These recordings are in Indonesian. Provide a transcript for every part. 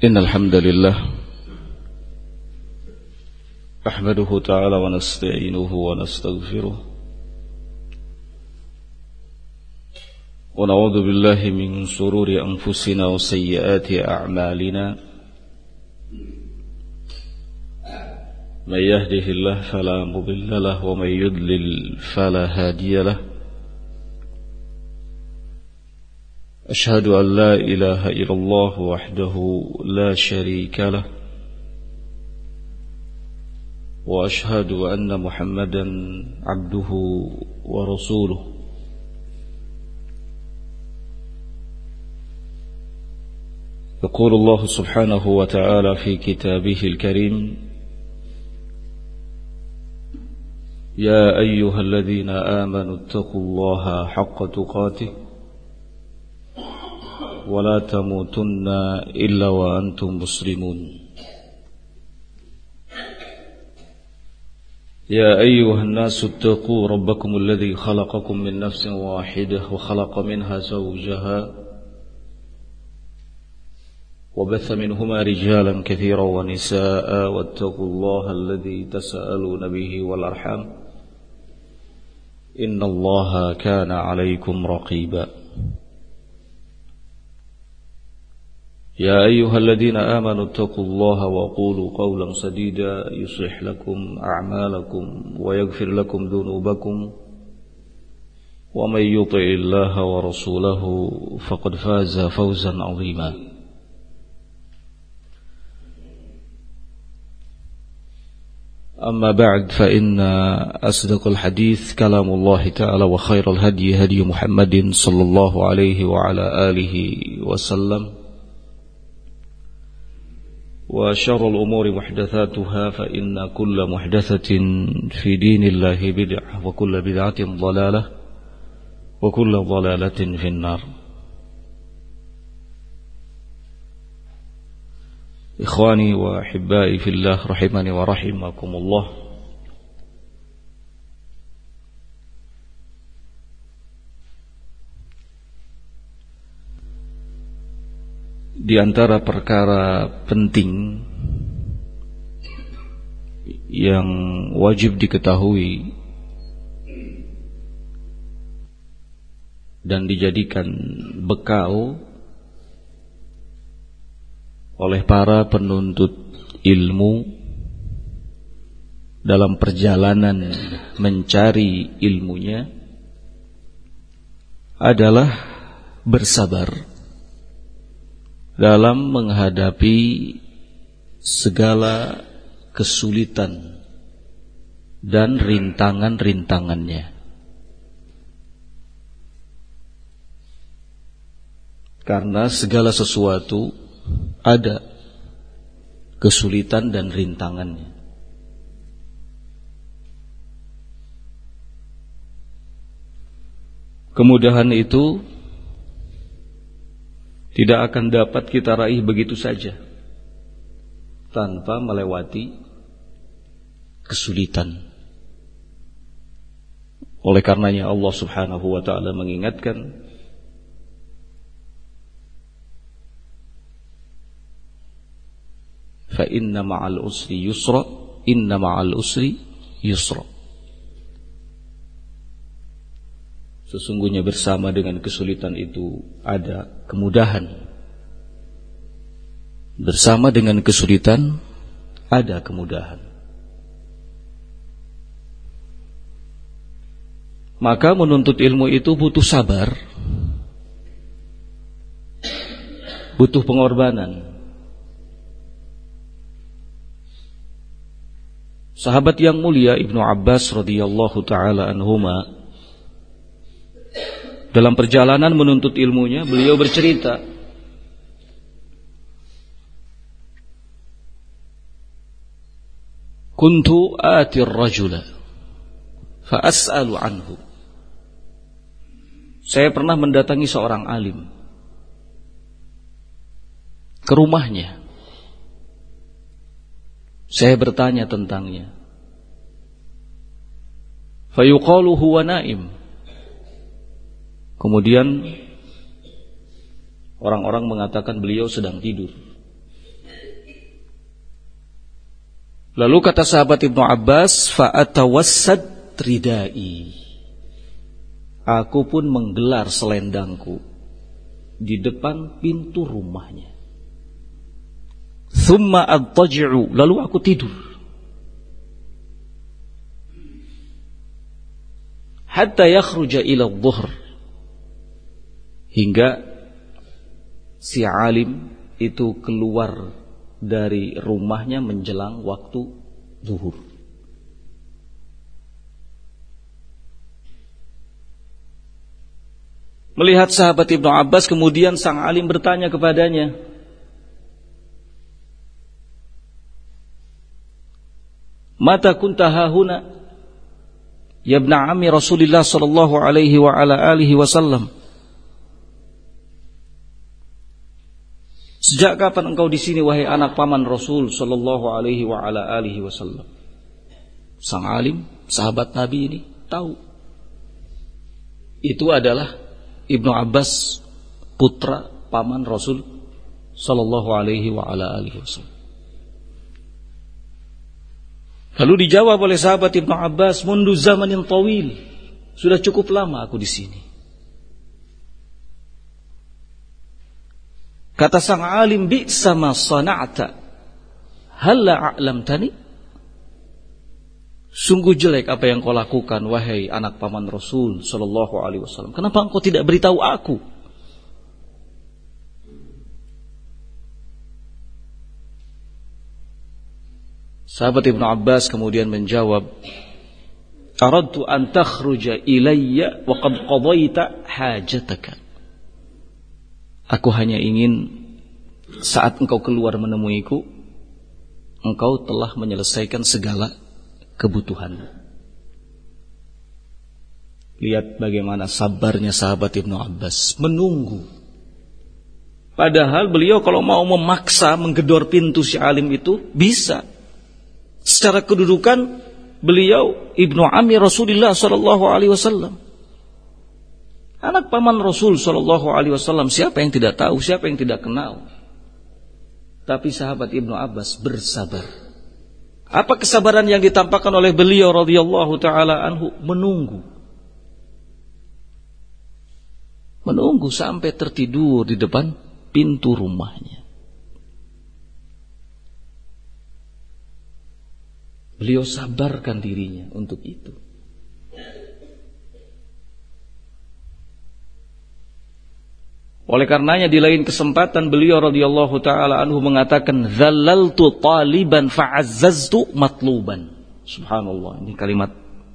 إن الحمد لله أحمده تعالى ونستعينه ونستغفره ونعوذ بالله من شرور أنفسنا وسيئات أعمالنا من يهده الله فلا مضل له ومن يضلل فلا هادي له أشهد أن لا إله إلا الله وحده لا شريك له وأشهد أن محمدا عبده ورسوله يقول الله سبحانه وتعالى في كتابه الكريم يا أيها الذين آمنوا اتقوا الله حق تقاته ولا تموتن إلا وأنتم مسلمون يا أيها الناس اتقوا ربكم الذي خلقكم من نفس واحدة وخلق منها زوجها وبث منهما رجالا كثيرا ونساء واتقوا الله الذي تساءلون به والأرحام إن الله كان عليكم رقيبا يا أيها الذين آمنوا اتقوا الله وقولوا قولا سديدا يصلح لكم أعمالكم ويغفر لكم ذنوبكم ومن يطع الله ورسوله فقد فاز فوزا عظيما أما بعد فإن أصدق الحديث كلام الله تعالى وخير الهدي هدي محمد صلى الله عليه وعلى آله وسلم وشر الأمور محدثاتها فإن كل محدثة في دين الله بدعة وكل بدعة ضلالة وكل ضلالة في النار. إخواني وأحبائي في الله رحمني ورحمكم الله. Di antara perkara penting yang wajib diketahui dan dijadikan bekal oleh para penuntut ilmu dalam perjalanan mencari ilmunya adalah bersabar dalam menghadapi segala kesulitan dan rintangan-rintangannya. Karena segala sesuatu ada kesulitan dan rintangannya. Kemudahan itu tidak akan dapat kita raih begitu saja tanpa melewati kesulitan. Oleh karenanya Allah Subhanahu wa taala mengingatkan fa inna ma'al usri yusra inna ma'al usri yusra. Sesungguhnya bersama dengan kesulitan itu ada kemudahan. Bersama dengan kesulitan ada kemudahan. Maka menuntut ilmu itu butuh sabar, butuh pengorbanan. Sahabat yang mulia Ibnu Abbas radhiyallahu taala anhuma dalam perjalanan menuntut ilmunya, beliau bercerita, kuntu atir rajula fa as'alu anhu. Saya pernah mendatangi seorang alim ke rumahnya. Saya bertanya tentangnya. Fa yuqalu huwa naim. Kemudian orang-orang mengatakan beliau sedang tidur. Lalu kata sahabat Ibnu Abbas, fa'atawassad ridai. Aku pun menggelar selendangku di depan pintu rumahnya. Thumma adtaji'u, lalu aku tidur. Hatta yakhruja ila dhuhr, hingga si alim itu keluar dari rumahnya menjelang waktu zuhur. Melihat sahabat Ibnu Abbas, kemudian sang alim bertanya kepadanya, "Mata kunta hahuna, ya ibna ammi Rasulillah sallallahu alaihi wa ala alihi wasallam?" Sejak kapan engkau di sini wahai anak paman Rasul sallallahu alaihi wa ala alihi wasallam? Sang alim, sahabat Nabi ini tahu itu adalah Ibnu Abbas, putra paman Rasul sallallahu alaihi wa ala alihi wasallam. Lalu dijawab oleh sahabat Ibnu Abbas, "Mundu zamanin tawil." Sudah cukup lama aku di sini. Kata sang alim, "Bi'sa ma sana'ta, halla a'lamtani?" Sungguh jelek apa yang kau lakukan wahai anak paman Rasul sallallahu alaihi wasallam. Kenapa engkau tidak beritahu aku? Sahabat Ibnu Abbas kemudian menjawab, "Aradtu an takhruja ilayya wa qad qadaita hajataka." Aku hanya ingin saat engkau keluar menemuiku, engkau telah menyelesaikan segala kebutuhanmu. Lihat bagaimana sabarnya sahabat Ibnu Abbas menunggu. Padahal beliau kalau mau memaksa menggedor pintu si alim itu bisa. Secara kedudukan beliau Ibnu ammi Rasulullah sallallahu alaihi wasallam. Anak paman Rasul sallallahu alaihi wasallam, siapa yang tidak tahu, siapa yang tidak kenal. Tapi sahabat Ibnu Abbas bersabar. Apa kesabaran yang ditampakkan oleh beliau radhiyallahu taala anhu? Menunggu sampai tertidur di depan pintu rumahnya. Beliau sabarkan dirinya untuk itu. Oleh karenanya di lain kesempatan beliau radhiyallahu taala anhu mengatakan, "Dzallaltu taliban fa'azzaztu matluban." Subhanallah, ini kalimat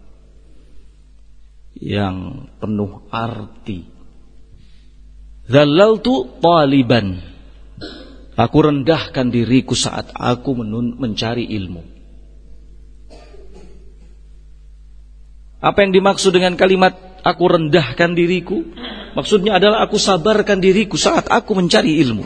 yang penuh arti. Dzallaltu taliban. Aku rendahkan diriku saat aku mencari ilmu. Apa yang dimaksud dengan kalimat aku rendahkan diriku? Maksudnya adalah aku sabarkan diriku saat aku mencari ilmu.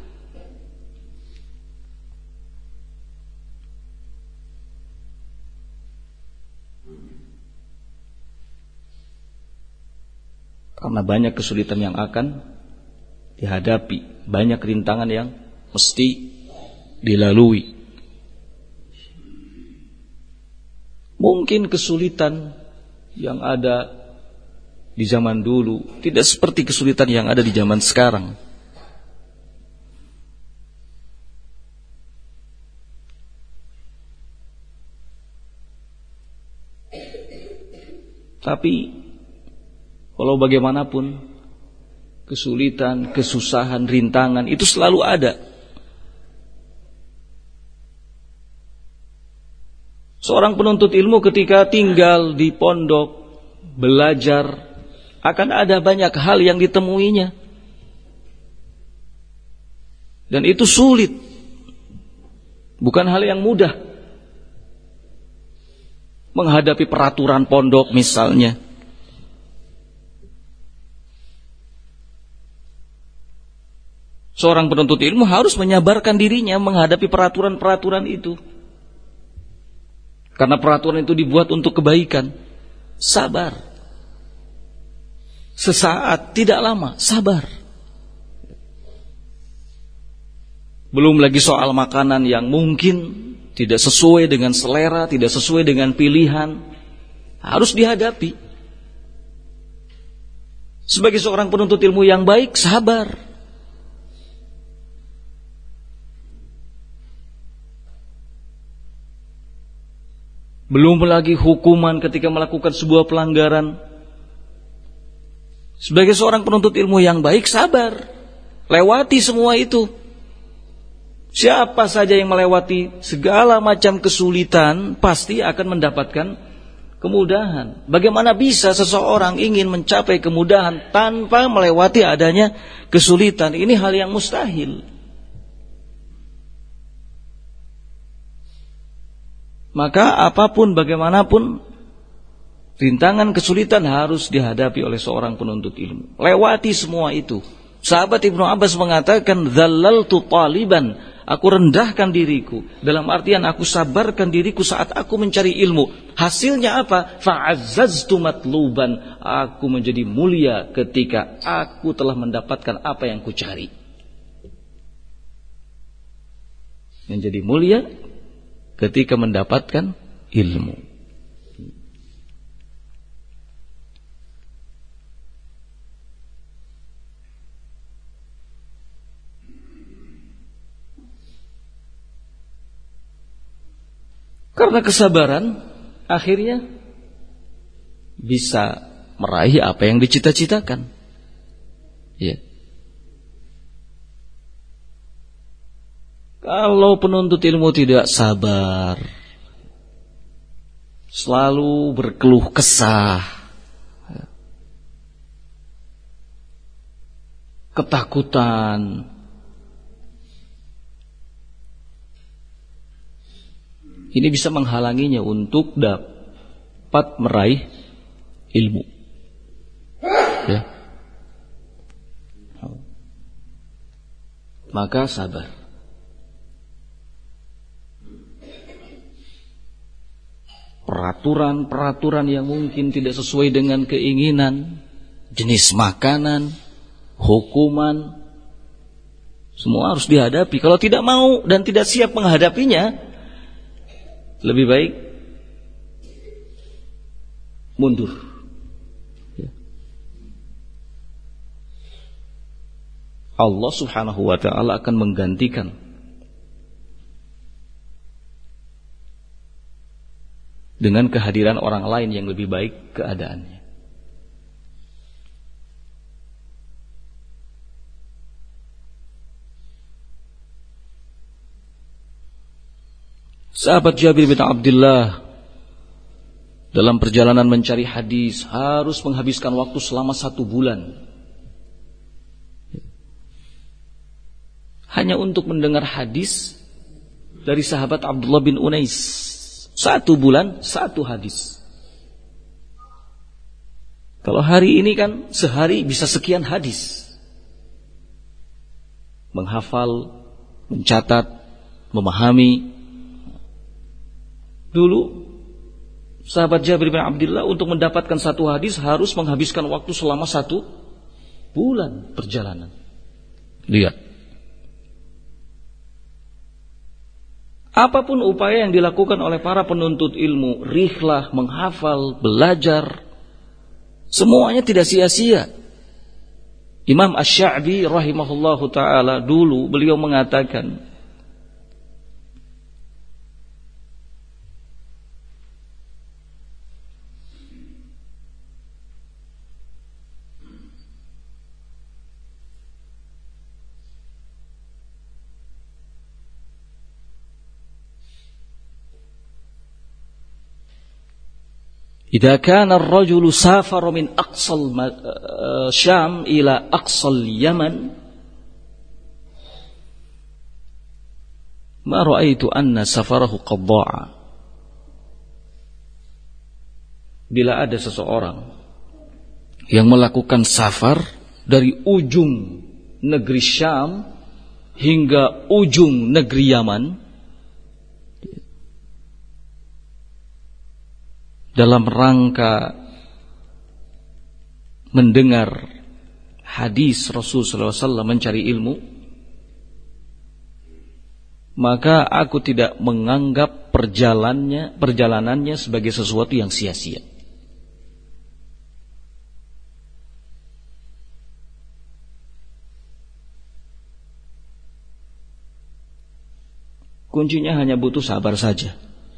Karena banyak kesulitan yang akan dihadapi, banyak rintangan yang mesti dilalui. Mungkin kesulitan yang ada di zaman dulu tidak seperti kesulitan yang ada di zaman sekarang. Tapi walau bagaimanapun kesulitan, kesusahan, rintangan itu selalu ada. Seorang penuntut ilmu ketika tinggal di pondok, belajar, akan ada banyak hal yang ditemuinya. Dan itu sulit. Bukan hal yang mudah. Menghadapi peraturan pondok misalnya. Seorang penuntut ilmu harus menyabarkan dirinya menghadapi peraturan-peraturan itu. Karena peraturan itu dibuat untuk kebaikan. Sabar. Sesaat, tidak lama, sabar. Belum lagi soal makanan yang mungkin tidak sesuai dengan selera, tidak sesuai dengan pilihan, harus dihadapi. Sebagai seorang penuntut ilmu yang baik, sabar. Belum lagi hukuman ketika melakukan sebuah pelanggaran. Sebagai seorang penuntut ilmu yang baik, sabar. Lewati semua itu. Siapa saja yang melewati segala macam kesulitan pasti akan mendapatkan kemudahan. Bagaimana bisa seseorang ingin mencapai kemudahan tanpa melewati adanya kesulitan? Ini hal yang mustahil. Maka apapun bagaimanapun rintangan kesulitan harus dihadapi oleh seorang penuntut ilmu. Lewati semua itu. Sahabat Ibnu Abbas mengatakan, "Dzallaltu taliban." Aku rendahkan diriku, dalam artian aku sabarkan diriku saat aku mencari ilmu. Hasilnya apa? Fa'azzaztu matluban. Aku menjadi mulia ketika aku telah mendapatkan apa yang kucari. Menjadi mulia ketika mendapatkan ilmu. Karena kesabaran, akhirnya bisa meraih apa yang dicita-citakan. Ya. Kalau penuntut ilmu tidak sabar, selalu berkeluh kesah, ketakutan, ini bisa menghalanginya untuk dapat meraih ilmu. Ya. Maka sabar. Peraturan-peraturan yang mungkin tidak sesuai dengan keinginan, jenis makanan, hukuman, semua harus dihadapi. Kalau tidak mau dan tidak siap menghadapinya, lebih baik mundur. Allah Subhanahu wa ta'ala akan menggantikan dengan kehadiran orang lain yang lebih baik keadaannya. Sahabat Jabir bin Abdullah dalam perjalanan mencari hadis harus menghabiskan waktu selama 1 bulan hanya untuk mendengar hadis dari sahabat Abdullah bin Unais. 1 bulan 1 hadis. Kalau hari ini kan sehari bisa sekian hadis. Menghafal, mencatat, memahami. Dulu sahabat Jabir bin Abdullah untuk mendapatkan 1 hadis harus menghabiskan waktu selama 1 bulan perjalanan. Lihat. Apapun upaya yang dilakukan oleh para penuntut ilmu, rihlah, menghafal, belajar, semuanya tidak sia-sia. Imam Asy-Sya'bi rahimahullahu ta'ala dulu beliau mengatakan, "Idza kana ar-rajulu safara min aqsal Syam ila aqsal Yaman, ma ra'aitu anna safarahu qad dha'a." Bila ada seseorang yang melakukan safar dari ujung negeri Syam hingga ujung negeri Yaman dalam rangka mendengar hadis Rasul sallallahu alaihi wasallam, mencari ilmu, maka aku tidak menganggap perjalanannya sebagai sesuatu yang sia-sia. Kuncinya hanya butuh sabar saja.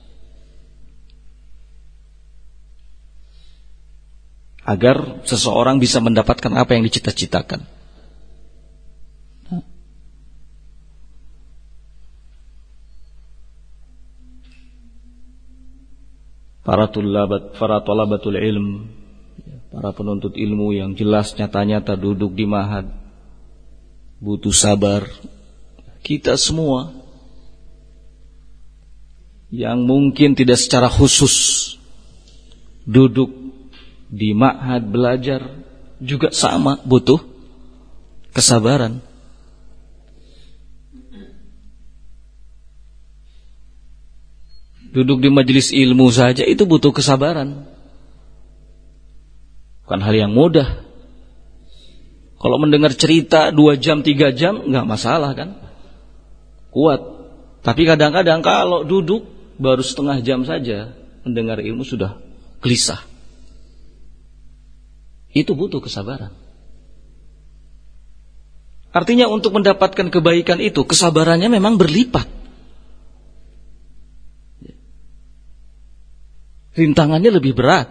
Agar seseorang bisa mendapatkan apa yang dicita-citakan. Para talabatul ilm, para penuntut ilmu yang jelas nyata-nyata duduk di ma'had, butuh sabar. Kita semua yang mungkin tidak secara khusus duduk di ma'had belajar juga sama butuh kesabaran. Duduk di majelis ilmu saja itu butuh kesabaran. Bukan hal yang mudah. Kalau mendengar cerita 2 jam 3 jam enggak masalah kan? Kuat. Tapi kadang-kadang kalau duduk baru setengah jam saja mendengar ilmu sudah gelisah. Itu butuh kesabaran. Artinya untuk mendapatkan kebaikan itu kesabarannya memang berlipat. Rintangannya lebih berat.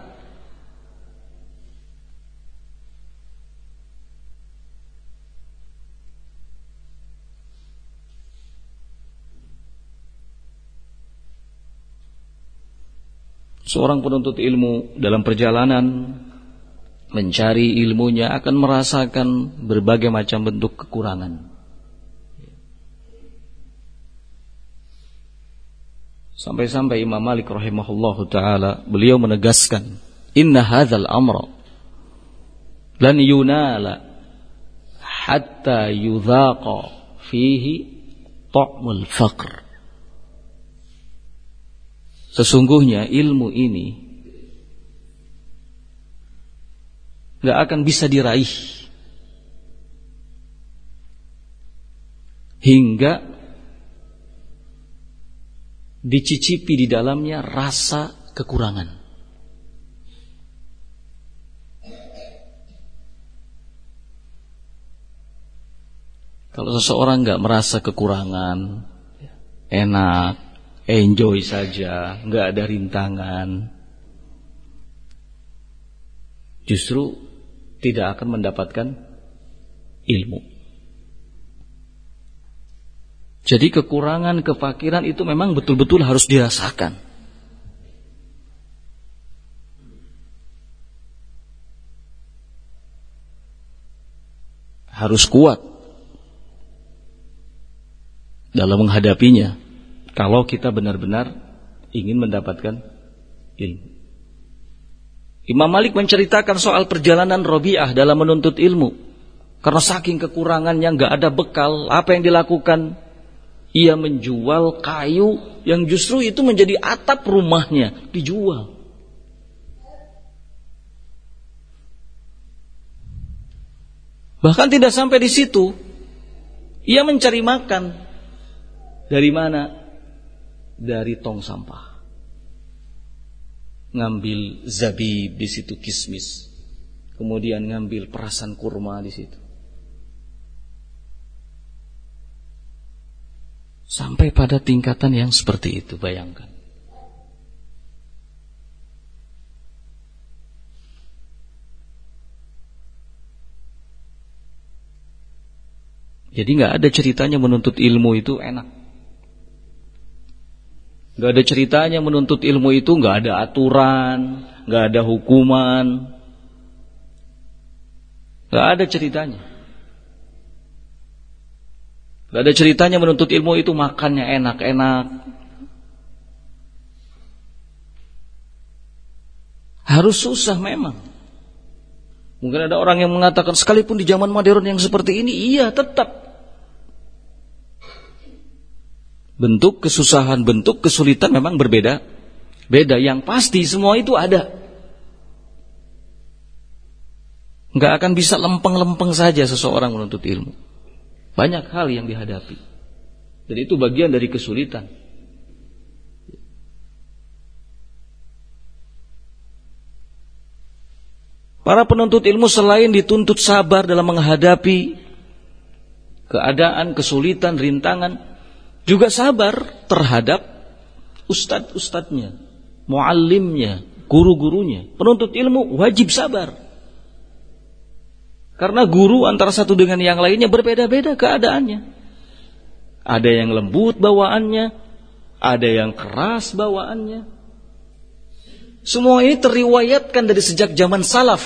Seorang penuntut ilmu dalam perjalanan mencari ilmunya akan merasakan berbagai macam bentuk kekurangan. Sampai-sampai Imam Malik rahimahullahu ta'ala beliau menegaskan, inna hadzal amra lan yunala hatta yudhaqa fihi ta'mul faqr. Sesungguhnya ilmu ini gak akan bisa diraih hingga dicicipi di dalamnya rasa kekurangan. Kalau seseorang gak merasa kekurangan, enak, enjoy saja, gak ada rintangan, justru tidak akan mendapatkan ilmu. Jadi kekurangan, kefakiran itu memang betul-betul harus dirasakan. Harus kuat dalam menghadapinya kalau kita benar-benar ingin mendapatkan ilmu. Imam Malik menceritakan soal perjalanan Rabi'ah dalam menuntut ilmu. Karena saking kekurangannya, gak ada bekal, apa yang dilakukan? Ia menjual kayu yang justru itu menjadi atap rumahnya, dijual. Bahkan tidak sampai di situ, ia mencari makan. Dari mana? Dari tong sampah. Ngambil zabib di situ, kismis. Kemudian ngambil perasan kurma di situ. Sampai pada tingkatan yang seperti itu, bayangkan. Jadi gak ada ceritanya menuntut ilmu itu enak. Gak ada ceritanya menuntut ilmu itu gak ada aturan, gak ada hukuman. Gak ada ceritanya. Gak ada ceritanya menuntut ilmu itu makannya enak-enak. Harus susah memang. Mungkin ada orang yang mengatakan sekalipun di zaman modern yang seperti ini, iya tetap. Bentuk kesusahan, bentuk kesulitan memang berbeda. Beda, yang pasti semua itu ada. Gak akan bisa lempeng-lempeng saja seseorang menuntut ilmu. Banyak hal yang dihadapi. Dan itu bagian dari kesulitan. Para penuntut ilmu selain dituntut sabar dalam menghadapi keadaan, kesulitan, rintangan, juga sabar terhadap ustadz-ustadznya, muallimnya, guru-gurunya. Penuntut ilmu wajib sabar. Karena guru antara satu dengan yang lainnya berbeda-beda keadaannya. Ada yang lembut bawaannya, ada yang keras bawaannya. Semua ini teriwayatkan dari sejak zaman salaf.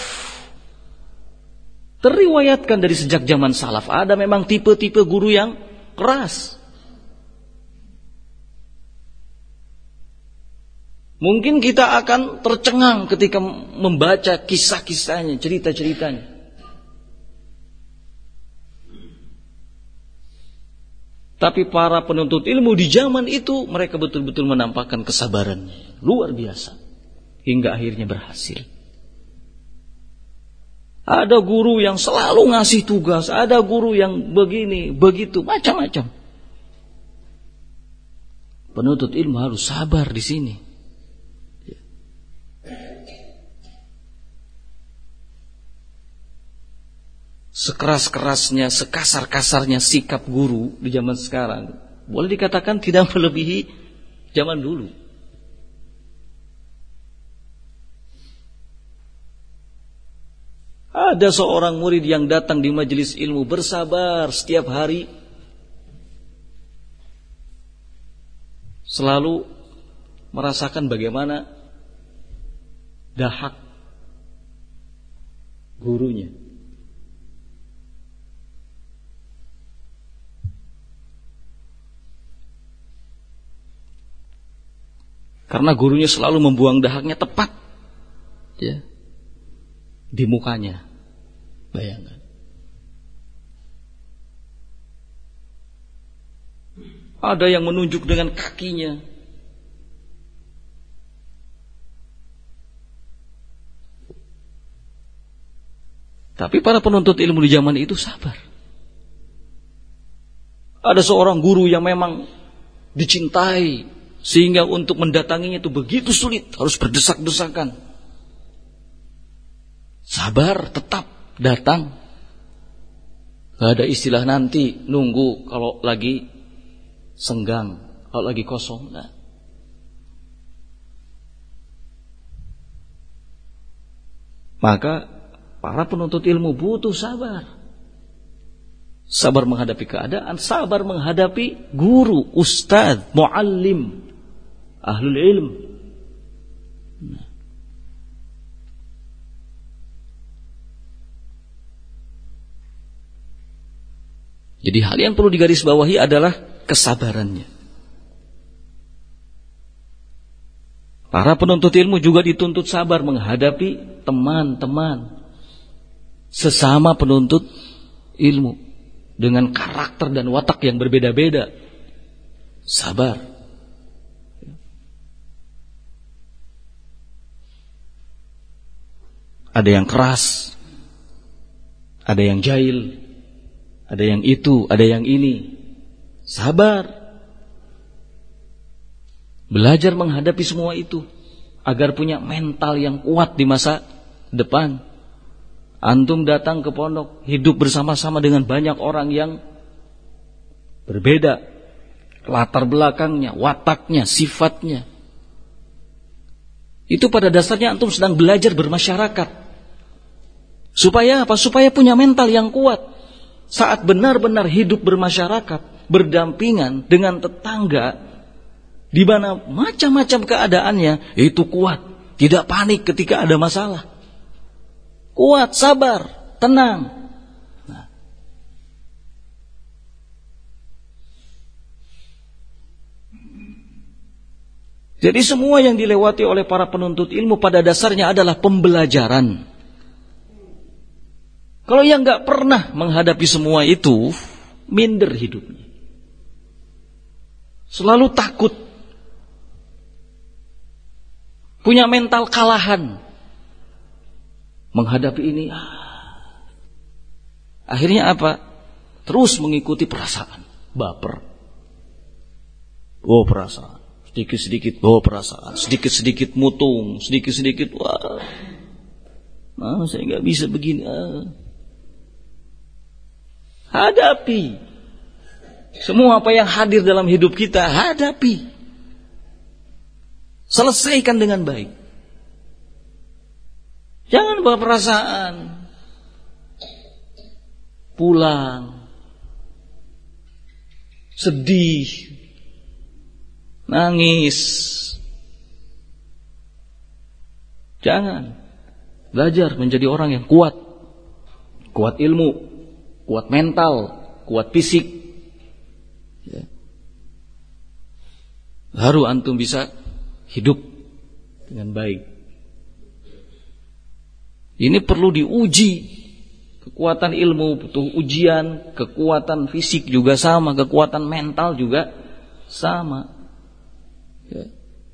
Teriwayatkan dari sejak zaman salaf. Ada memang tipe-tipe guru yang keras. Mungkin kita akan tercengang ketika membaca kisah-kisahnya, cerita-ceritanya. Tapi para penuntut ilmu di zaman itu, mereka betul-betul menampakkan kesabarannya. Luar biasa. Hingga akhirnya berhasil. Ada guru yang selalu ngasih tugas, ada guru yang begini, begitu, macam-macam. Penuntut ilmu harus sabar di sini. Sekeras-kerasnya, sekasar-kasarnya sikap guru di zaman sekarang, boleh dikatakan tidak melebihi zaman dulu. Ada seorang murid yang datang di majelis ilmu bersabar setiap hari. Selalu merasakan bagaimana dahak gurunya. Karena gurunya selalu membuang dahaknya tepat, ya, di mukanya. Bayangkan. Ada yang menunjuk dengan kakinya. Tapi para penuntut ilmu di zaman itu sabar. Ada seorang guru yang memang dicintai, sehingga untuk mendatanginya itu begitu sulit, harus berdesak-desakan. Sabar, tetap datang. Gak ada istilah nanti nunggu kalau lagi senggang, kalau lagi kosong. Nah. Maka para penuntut ilmu butuh sabar. Sabar menghadapi keadaan, sabar menghadapi guru, ustadz, muallim, ahlul ilm. Nah. Jadi hal yang perlu digarisbawahi adalah kesabarannya. Para penuntut ilmu juga dituntut sabar menghadapi teman-teman sesama penuntut ilmu dengan karakter dan watak yang berbeda-beda. Sabar. Ada yang keras, ada yang jahil, ada yang itu, ada yang ini. Sabar. Belajar menghadapi semua itu agar punya mental yang kuat di masa depan. Antum datang ke pondok, hidup bersama-sama dengan banyak orang yang berbeda latar belakangnya, wataknya, sifatnya. Itu pada dasarnya antum sedang belajar bermasyarakat. Supaya apa? Supaya punya mental yang kuat. Saat benar-benar hidup bermasyarakat, berdampingan dengan tetangga, di mana macam-macam keadaannya, itu kuat, tidak panik ketika ada masalah. Kuat, sabar, tenang. Nah. Jadi semua yang dilewati oleh para penuntut ilmu pada dasarnya adalah pembelajaran. Kalau yang gak pernah menghadapi semua itu, minder hidupnya. Selalu takut. Punya mental kalahan. Menghadapi ini. Akhirnya apa? Terus mengikuti perasaan. Baper. bawa perasaan. Sedikit-sedikit bawa perasaan. Sedikit-sedikit mutung. Sedikit-sedikit, wah, saya nggak bisa begini. Hadapi. Semua apa yang hadir dalam hidup kita, hadapi. Selesaikan dengan baik. Jangan bawa perasaan. Pulang. Sedih. Nangis. Jangan. Belajar menjadi orang yang kuat. Kuat ilmu. Kuat mental. Kuat fisik. Ya. Baru antum bisa hidup dengan baik. Ini perlu diuji. Kekuatan ilmu butuh ujian, kekuatan fisik juga sama, kekuatan mental juga sama. Ya.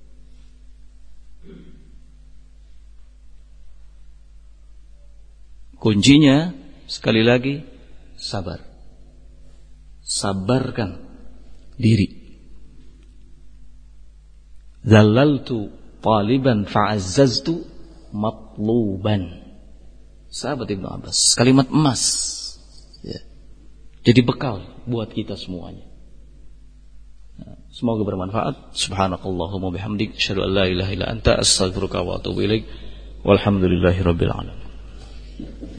Kuncinya sekali lagi sabar. Sabarkan diri. Zalaltu taliban fa'azzaztu matluban. Sahabat Ibnu Abbas, kalimat emas. Ya. Jadi bekal buat kita semuanya. Semoga bermanfaat. Subhanakallahumma bihamdik, asyhadu an la ilaha illa anta, astaghfiruka wa atubu ilaik. Walhamdulillahirabbil alamin.